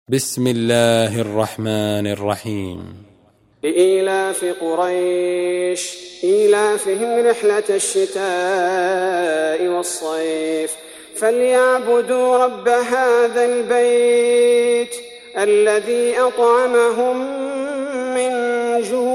بسم الله الرحمن الرحيم. لإيلاف قريش إيلافهم رحلة الشتاء والصيف فليعبدوا رب هذا البيت الذي أطعمهم من جوع